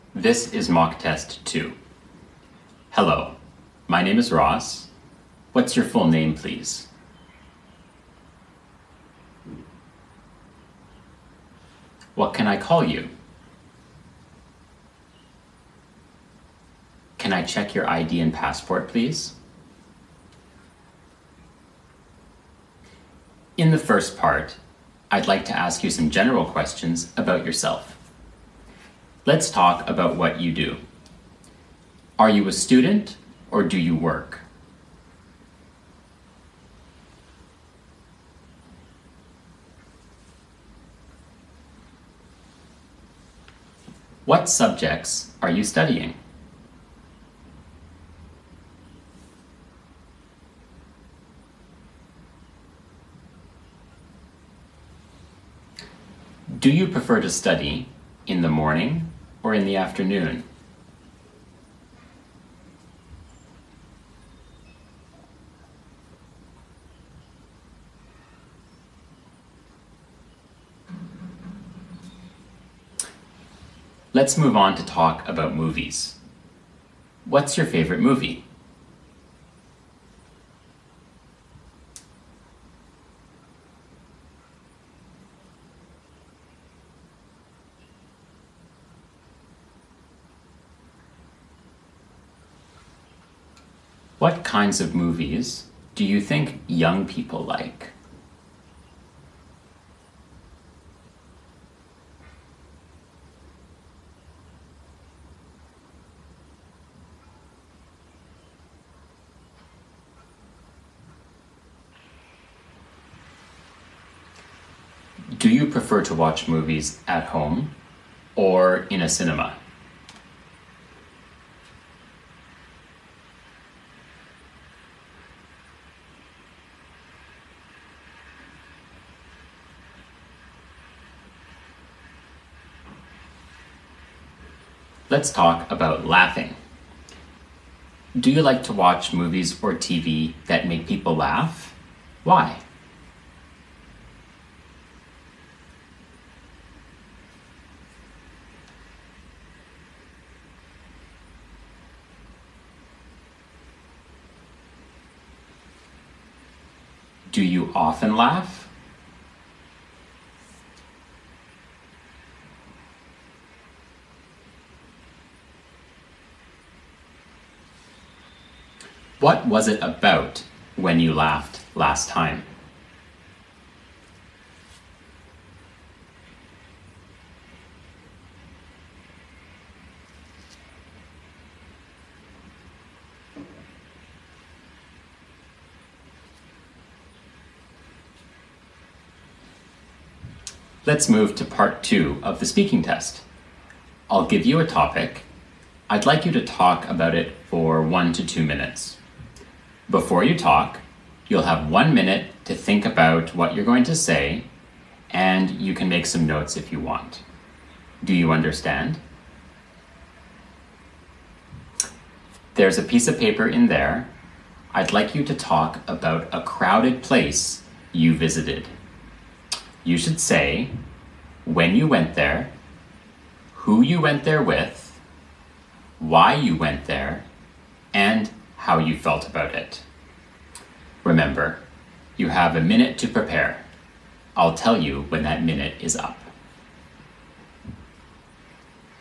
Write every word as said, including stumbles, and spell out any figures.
This is mock test two. Hello, my name is Ross. What's your full name, please? What can I call you? Can I check your I D and passport, please? In the first part, I'd like to ask you some general questions about yourself. Let's talk about what you do. Are you a student or do you work? What subjects are you studying? Do you prefer to study in the morning or in the afternoon? Let's move on to talk about movies. What's your favorite movie? What kinds of movies do you think young people like? Do you prefer to watch movies at home or in a cinema? Let's talk about laughing. Do you like to watch movies or T V that make people laugh? Why? Do you often laugh? What was it about when you laughed last time? Let's move to part two of the speaking test. I'll give you a topic. I'd like you to talk about it for one to two minutes. Before you talk, you'll have one minute to think about what you're going to say, and you can make some notes if you want. Do you understand? There's a piece of paper in there. I'd like you to talk about a crowded place you visited. You should say when you went there, who you went there with, why you went there, and how you felt about it. Remember, you have a minute to prepare. I'll tell you when that minute is up.